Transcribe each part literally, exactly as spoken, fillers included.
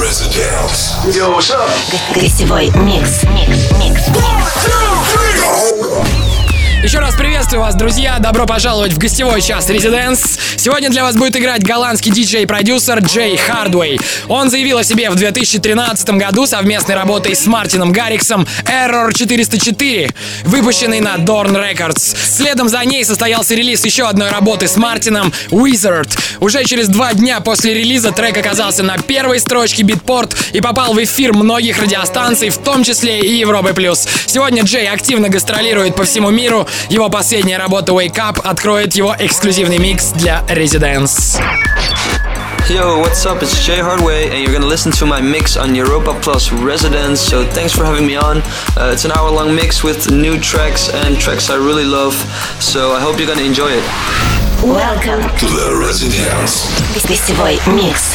Residence. Yo, what's up? Гостевой микс. Микс, микс, микс. Еще раз приветствую вас, друзья. Добро пожаловать в гостевой час Residence. Сегодня для вас будет играть голландский диджей-продюсер Джей Хардвей. Он заявил о себе в две тысячи тринадцатом году совместной работой с Мартином Гарриксом Error четыреста четыре, выпущенный на Dorn Records. Следом за ней состоялся релиз еще одной работы с Мартином Wizard. Уже через два дня после релиза трек оказался на первой строчке Beatport и попал в эфир многих радиостанций, в том числе и Европы плюс. Сегодня Джей активно гастролирует по всему миру. Его последняя работа Wake Up откроет его эксклюзивный микс для Residence. Yo, what's up? It's Jay Hardway, and you're gonna listen to my mix on Europa Plus Residence. So thanks for having me on. Uh, it's an hour-long mix with new tracks and tracks I really love. So I hope you're gonna enjoy it. Welcome to the Residence. Гостевой микс.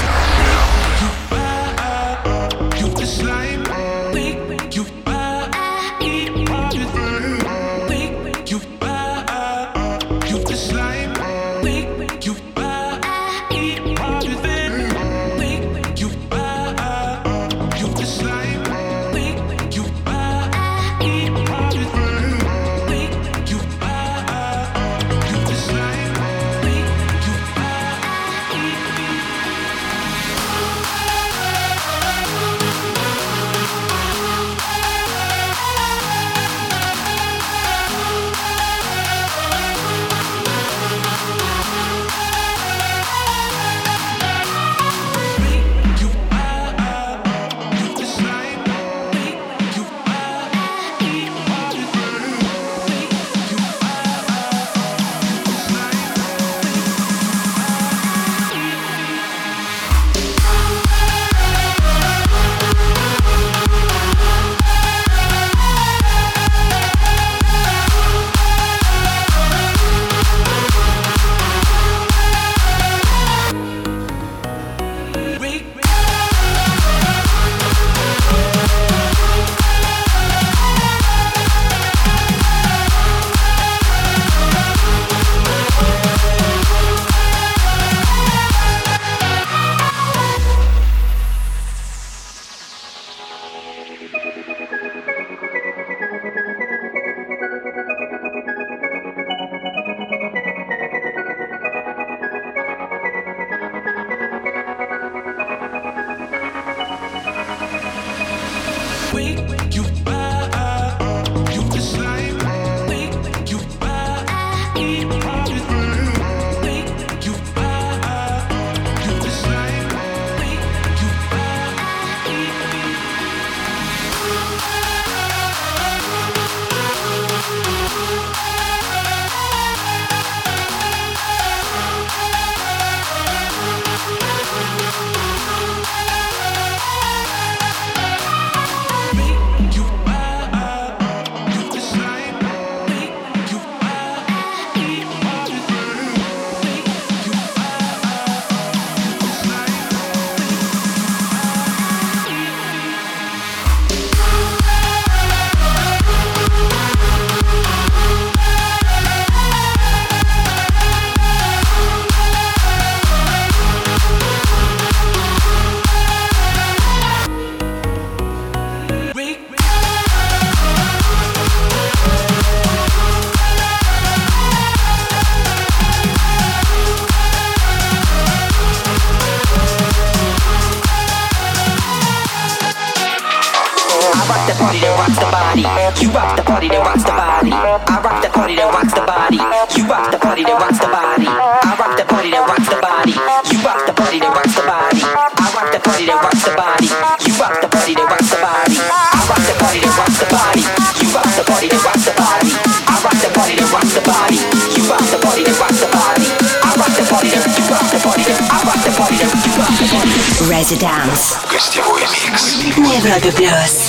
You rock the party that rocks the body. I rock the party that rocks the body. You rock the party that rocks the body. I rock the party that rocks the body. You rock the party that rocks the body. I rock the party that rocks the body. You rock the party that rocks the body. I rock the party that rocks the body. You rock the party that rocks the body. I rock the party that rocks the body. You rock the party that rocks the body. I rock the party that you rock the party that I rock the party that you rock the party. Residence. Гостевой микс. На Европе плюс.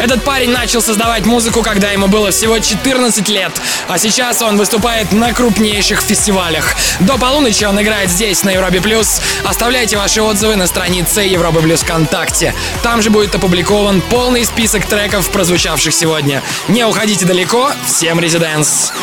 Этот парень начал создавать музыку, когда ему было всего четырнадцать лет, а сейчас он выступает на крупнейших фестивалях. До полуночи он играет здесь, на Европе Плюс. Оставляйте ваши отзывы на странице Европы Плюс ВКонтакте. Там же будет опубликован полный список треков, прозвучавших сегодня. Не уходите далеко, всем резиденс!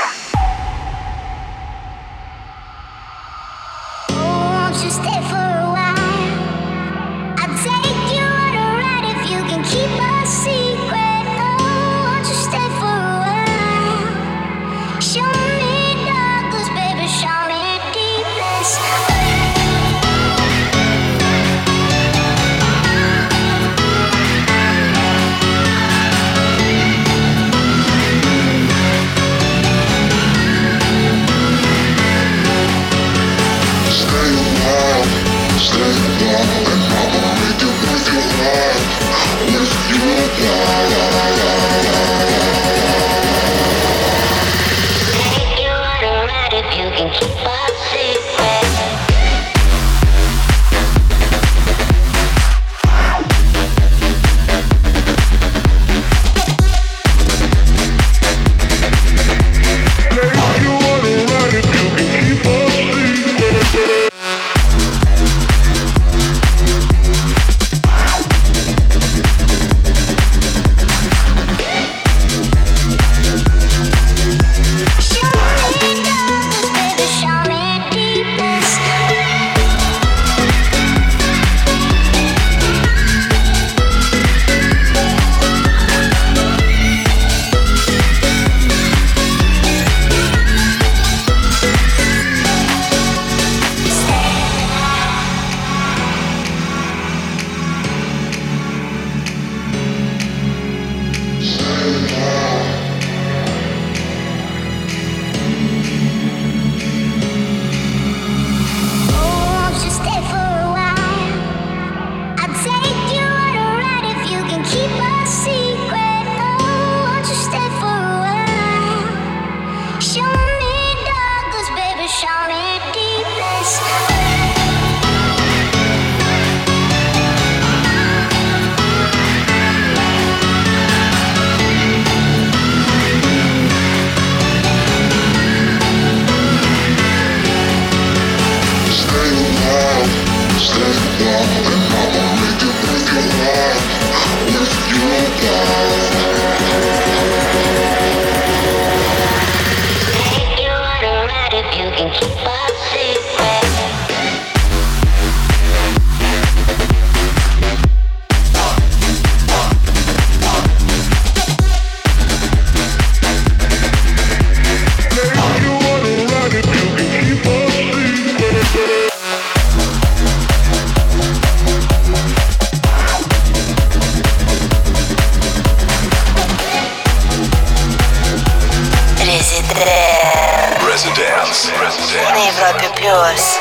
Residence. На Европе Плюс.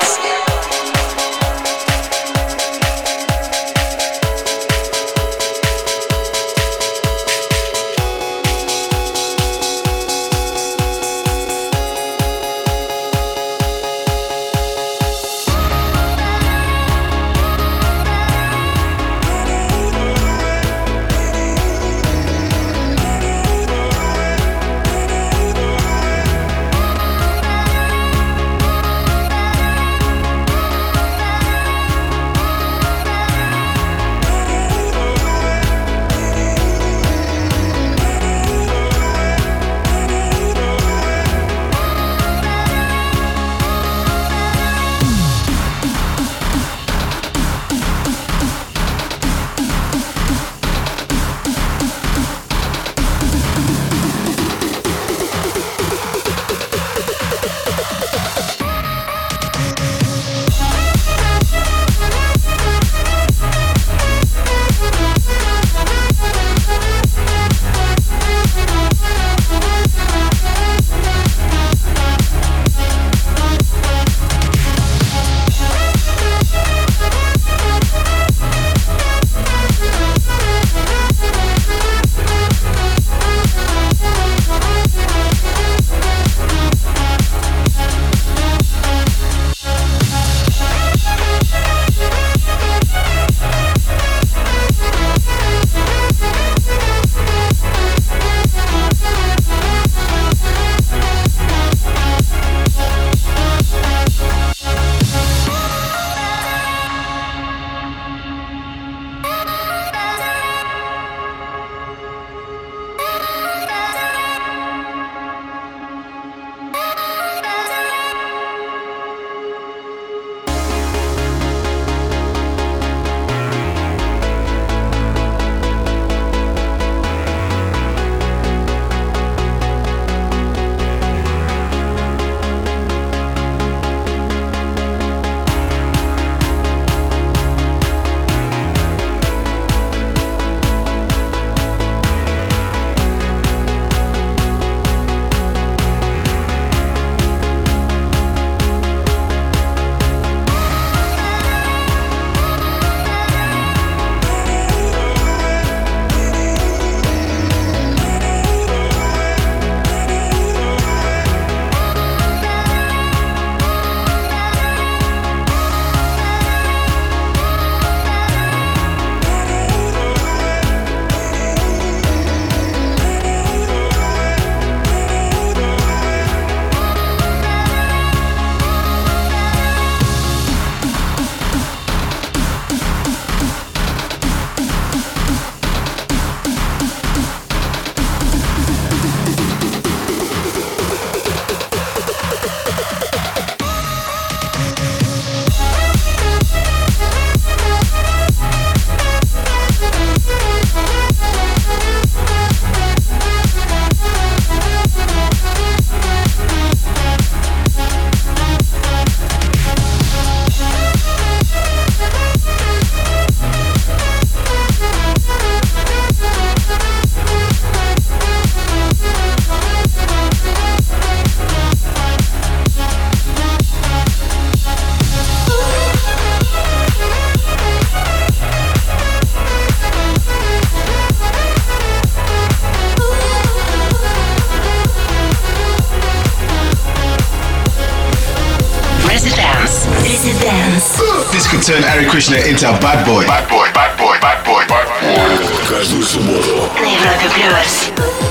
this could turn Eric Krishna into a bad boy. Bad boy, bad boy, bad boy, bad boy. Каждую субботу На Европе Плюс.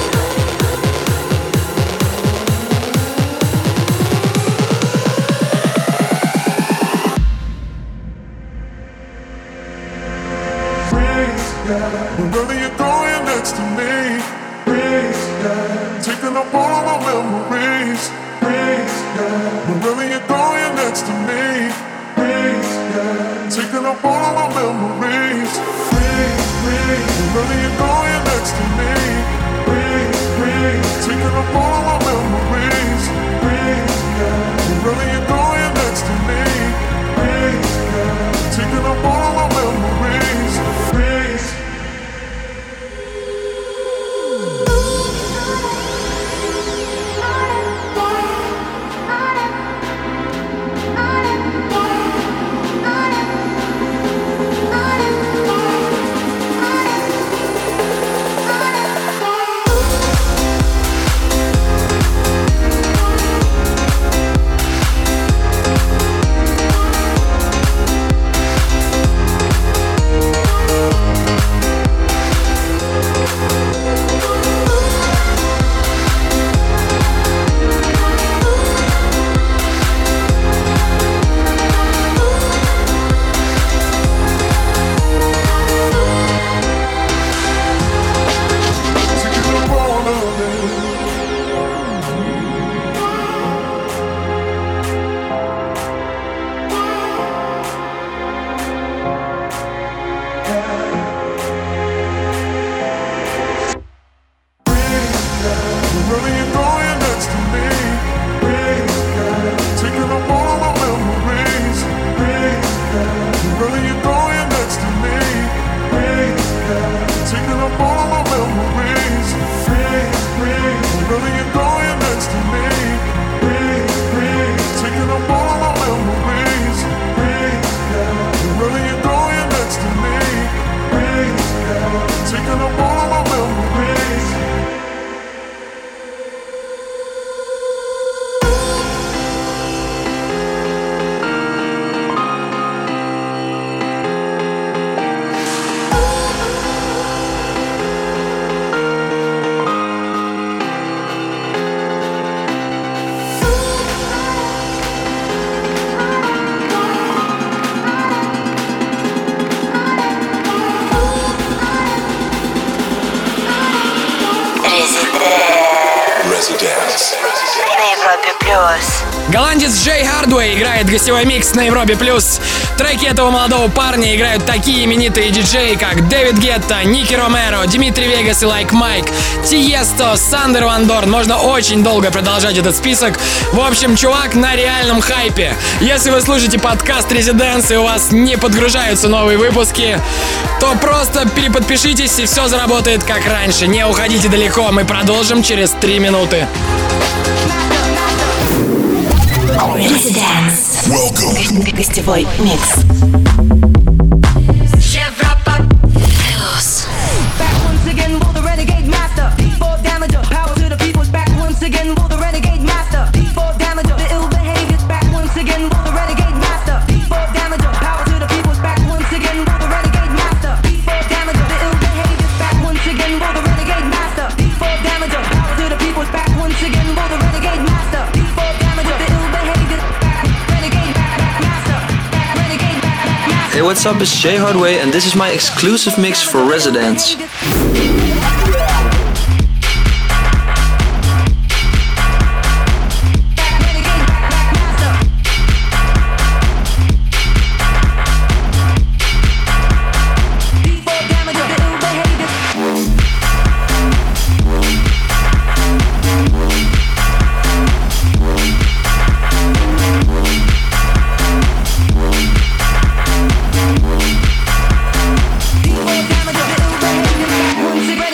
Wherever you're going next to me, taking up all of my memories. Wherever you're going next to me, taking up all of my memories. Wherever you're going next to me, taking up all of my memories. Wherever you're going next to me, taking up all of my memories. Голландец Джей Хардвей играет гостевой микс на Европе Плюс. Треки этого молодого парня играют такие именитые диджеи, как Дэвид Гетта, Ники Ромеро, Димитри Вегас и Лайк Майк, Тиесто, Сандер Ван Дорн. Можно очень долго продолжать этот список. В общем, чувак на реальном хайпе. Если вы слушаете подкаст Residence и у вас не подгружаются новые выпуски, то просто переподпишитесь и все заработает как раньше. Не уходите далеко, мы продолжим через три минуты. Residence. Welcome. Гостевой микс. Hey, what's up? It's Jay Hardway, and this is my exclusive mix for Residence. Once again,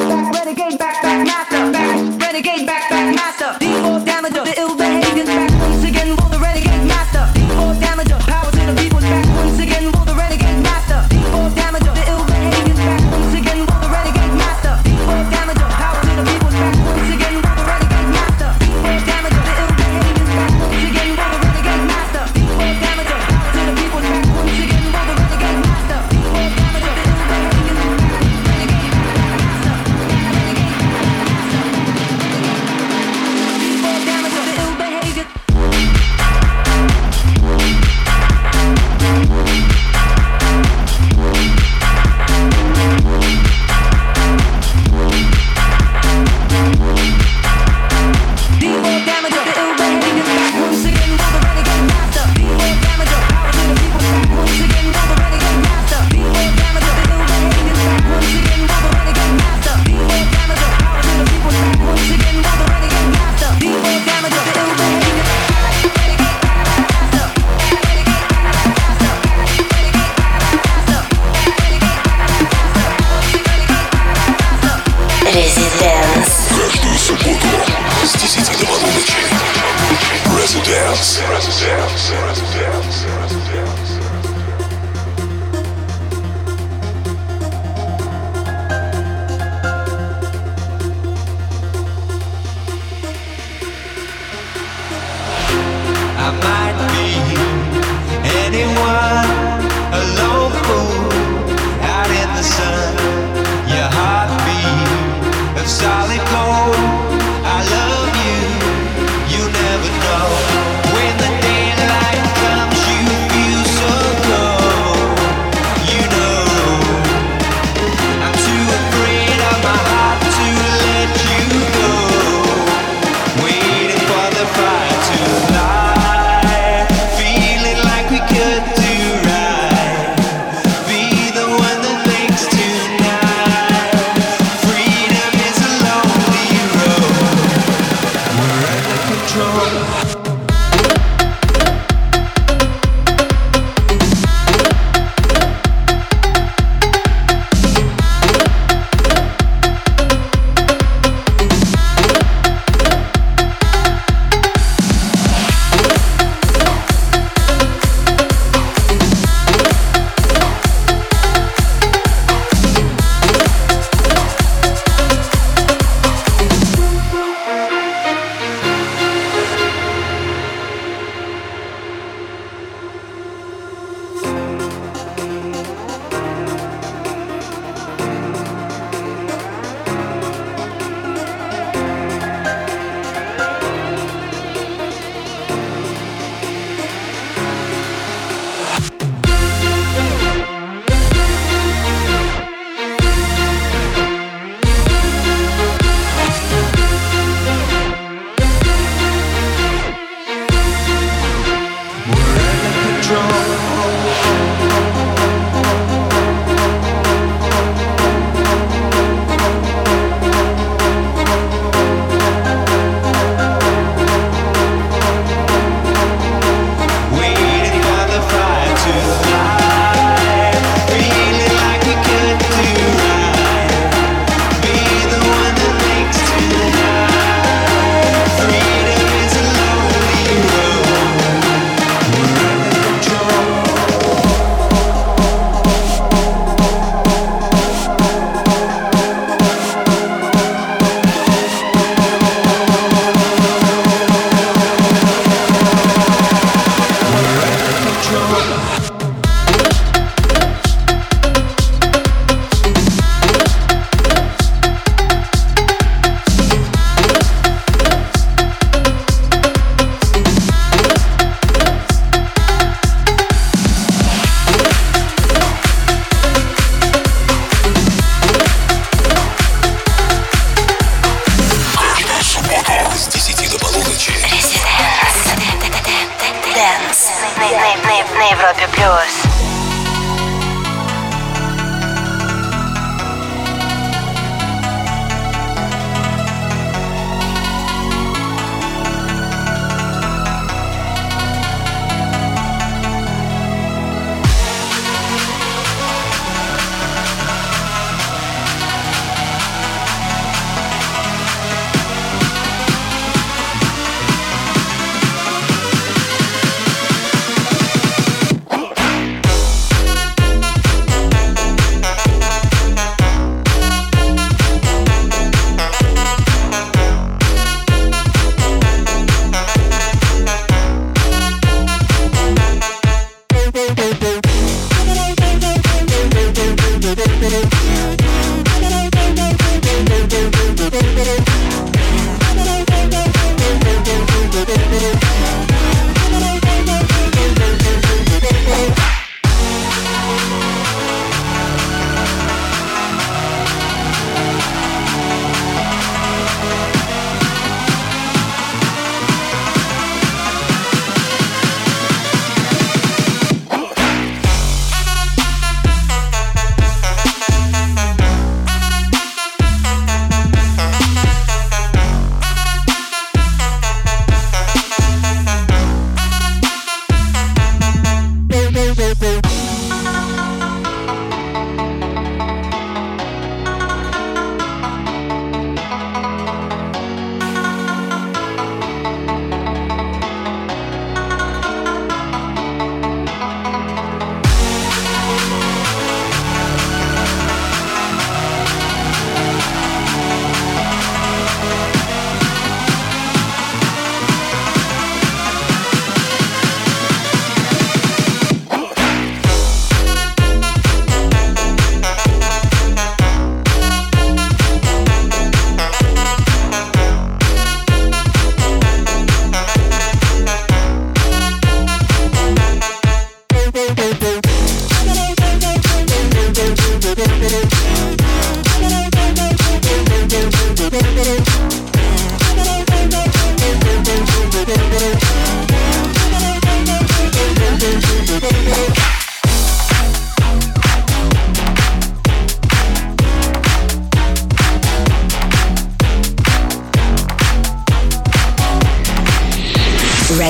на Европе плюс.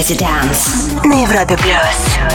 Residence на Европе плюс.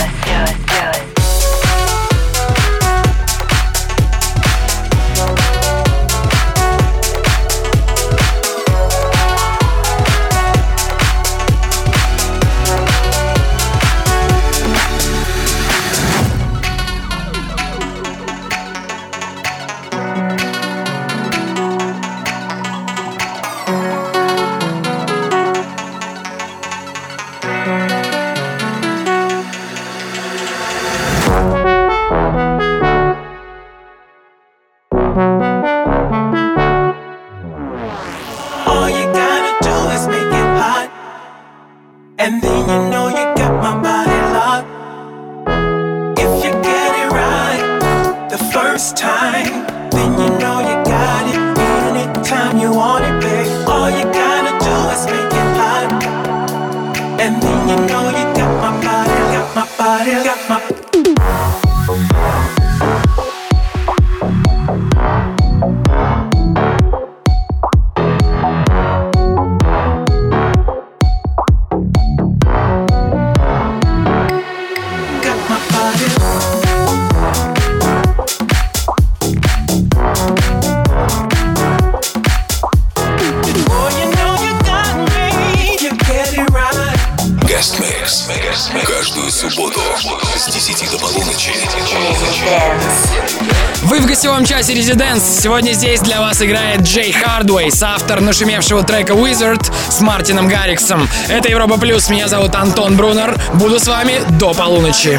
Вы в гостевом часе Residence. Сегодня здесь для вас играет Джей Хардвей, соавтор нашумевшего трека Wizard с Мартином Гарриксом. Это Европа Плюс, меня зовут Антон Брунер. Буду с вами до полуночи.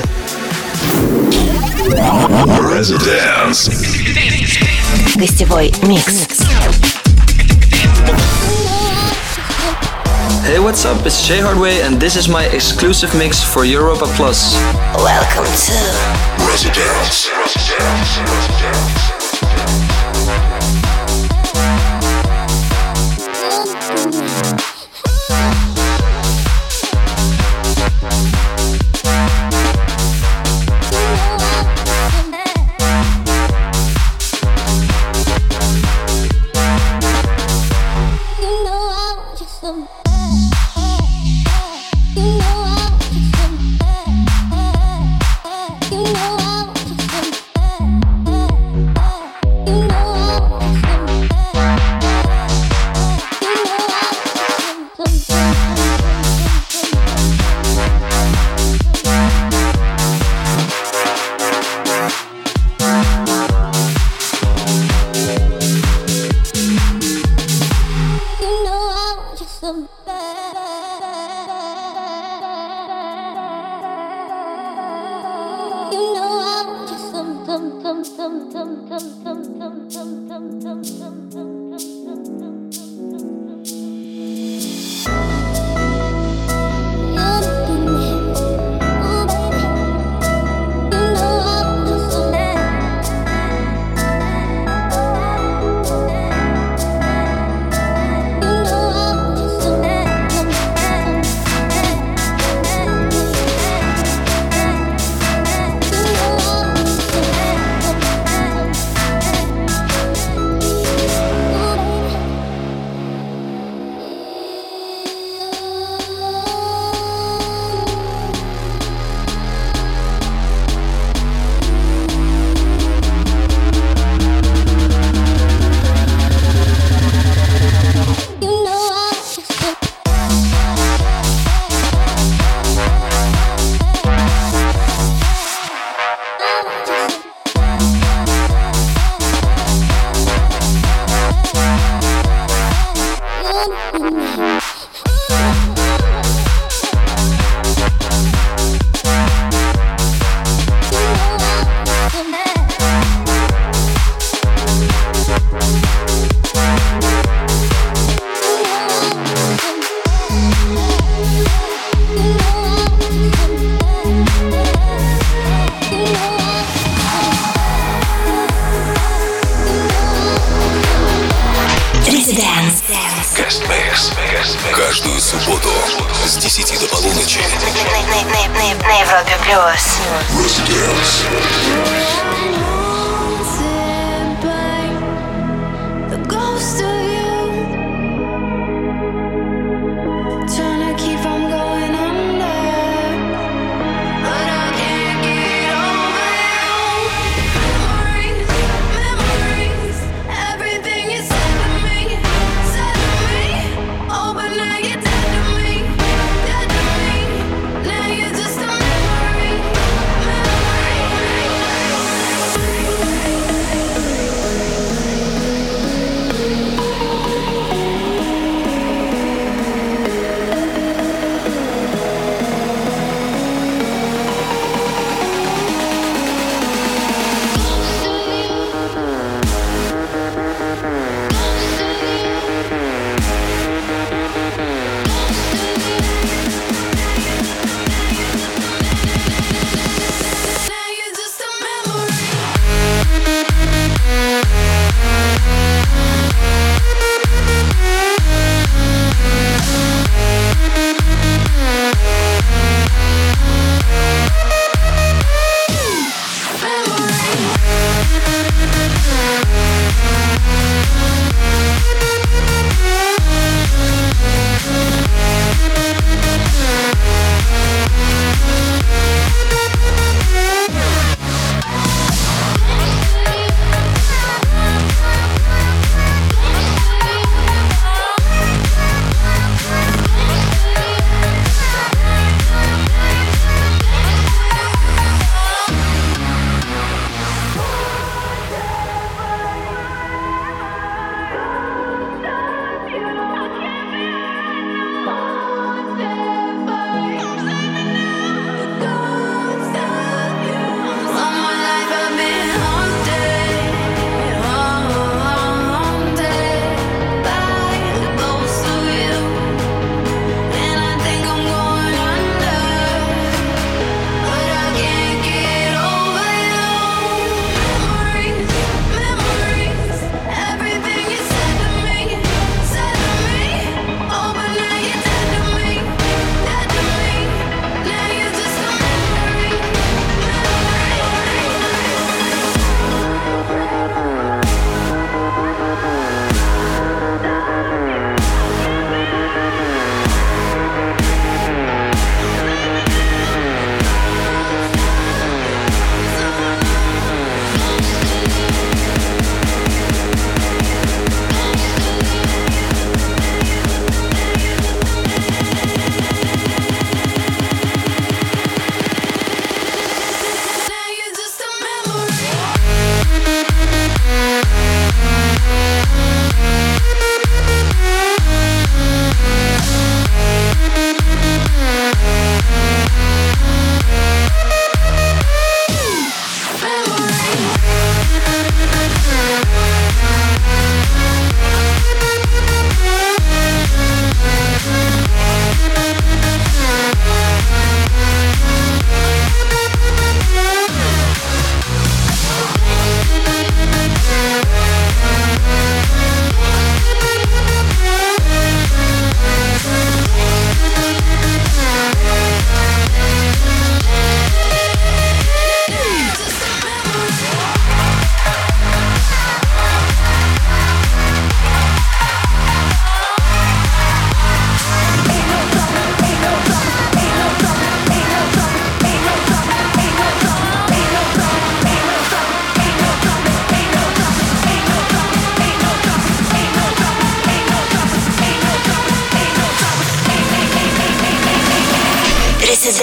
Residence. Гостевой микс. Hey, what's up? It's Jay Hardway, and this is my exclusive mix for Europa Plus. Welcome to Residence. Каждую субботу с десяти до полуночи на Европе плюс. Ghost of you, trying to keep from going on.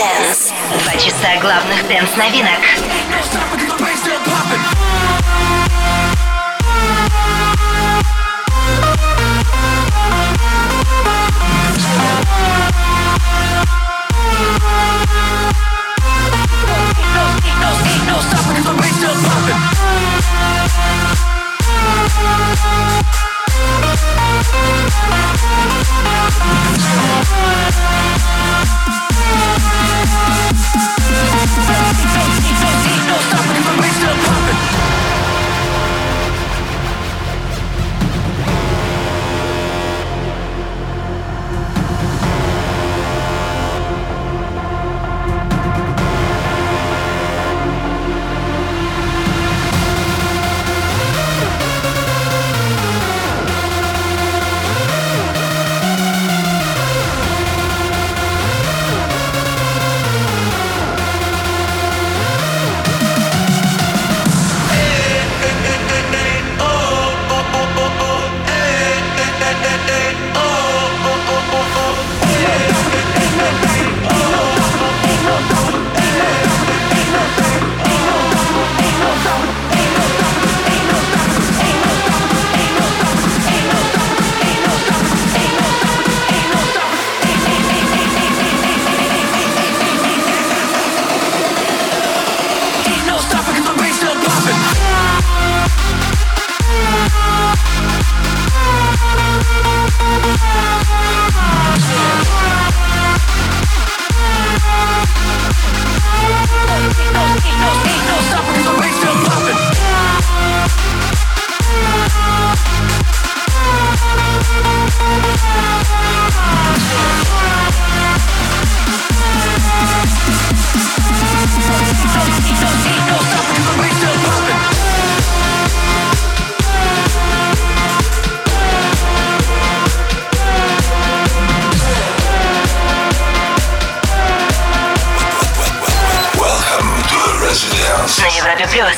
Residence. Два часа главных дэнс-новинок. На Европе плюс.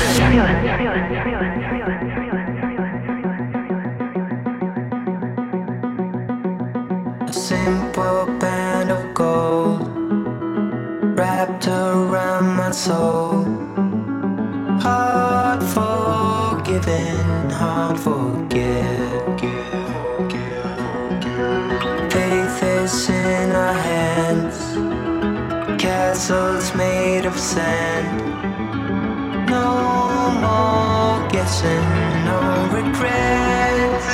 A simple band of gold wrapped around my soul. Hard forgiven, hard forget. Faith is in our hands. Castles made of sand. No more guessing, no regrets.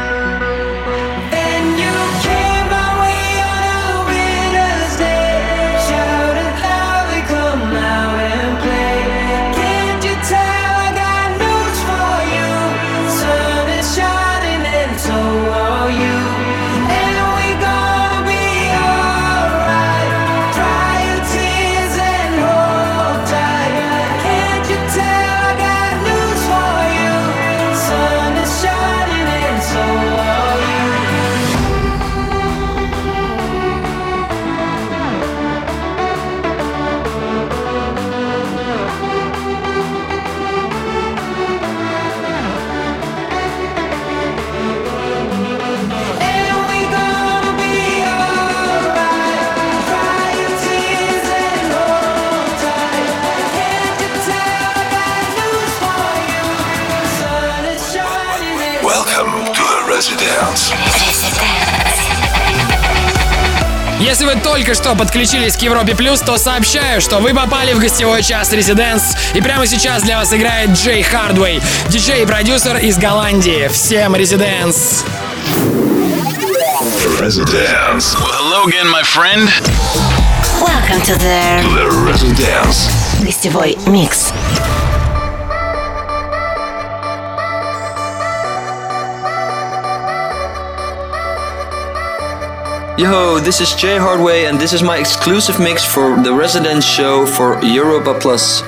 And you came my way on a winter's day. Shouted loudly, come out and play. Can't you tell I got news for you? Sun is shining and so are you. And we gonna be alright. Dry your tears and hold tight. Can't you tell I got news for you? Sun is shining and so are you. And we gonna be alright. Dry your tears and hold tight. Can't you tell I got news for you? Sun is shining and Welcome to the Residence. Если вы только что подключились к Европе Плюс, то сообщаю, что вы попали в гостевой час Residence, и прямо сейчас для вас играет Джей Хардвей, диджей и продюсер из Голландии. Всем Residence! Residence. Well, hello again, my friend. Welcome to the The Residence. гостевой микс. Yo, this is Jay Hardway, and this is my exclusive mix for the Residence show for Europa Plus.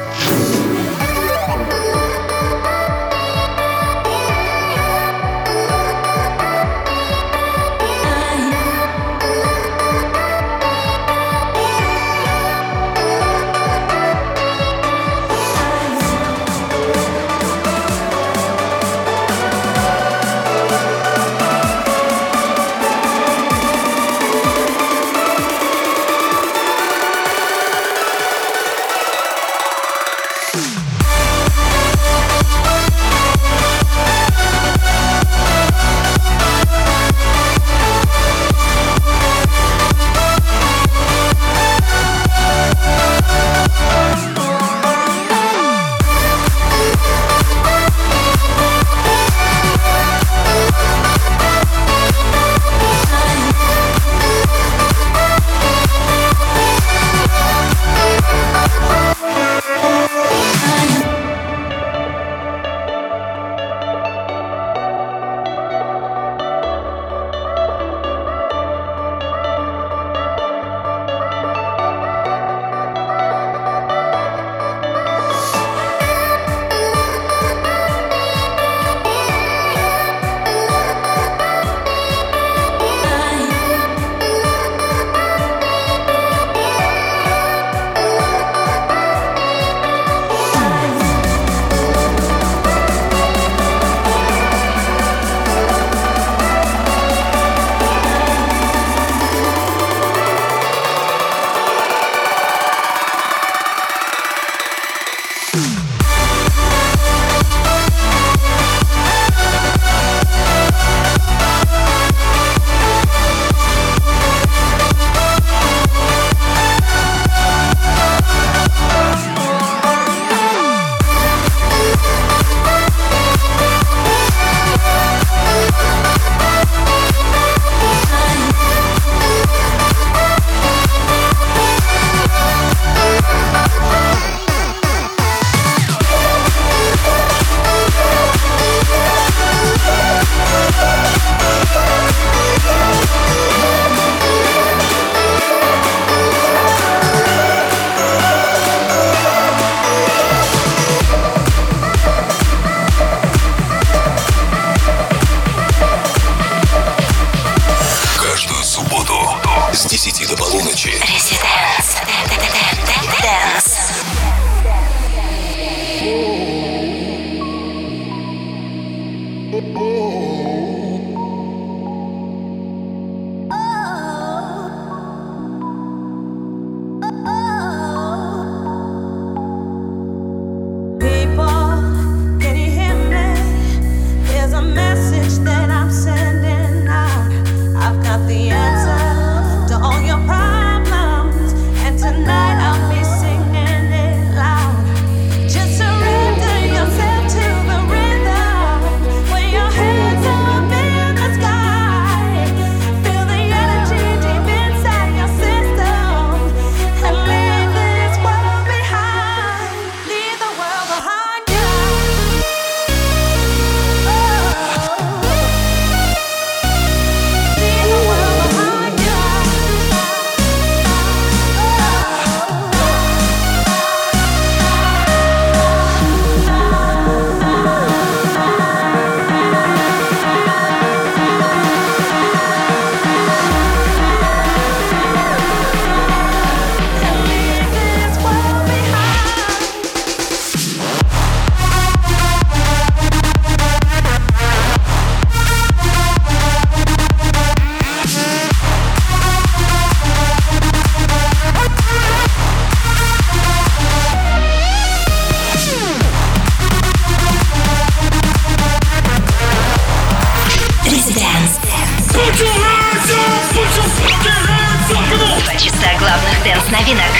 Два часа главных дэнс-новинок.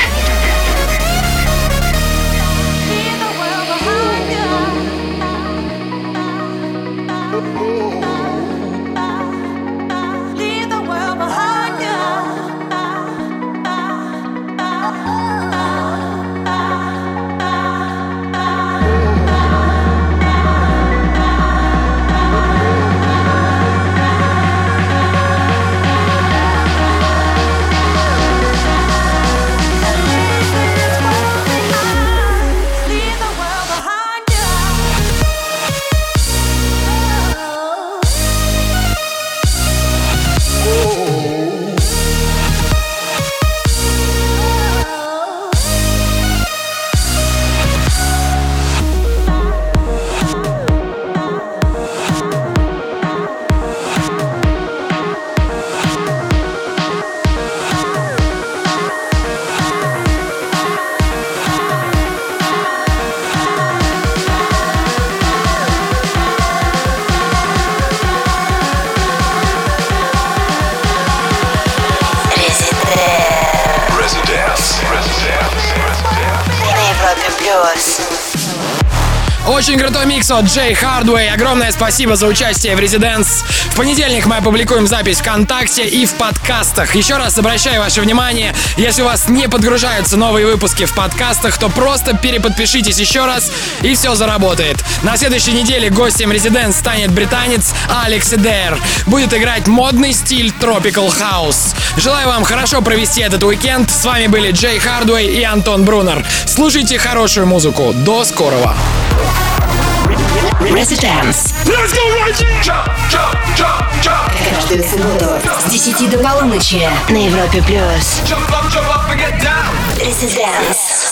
Очень крутой микс от Джей Hardway. Огромное спасибо за участие в Residence. В понедельник мы опубликуем запись ВКонтакте и в подкастах. Еще раз обращаю ваше внимание, если у вас не подгружаются новые выпуски в подкастах, то просто переподпишитесь еще раз, и все заработает. На следующей неделе гостем Residence станет британец Алекс Эдер. Будет играть модный стиль Tropical House. Желаю вам хорошо провести этот уикенд. С вами были Джей Hardway и Антон Брунер. Слушайте хорошую музыку. До скорого. Residence. Let's go right here. Jump, jump, jump, jump. Каждую субботу с десяти до полуночи на Европе плюс. Jump up, jump up and get down. Residence.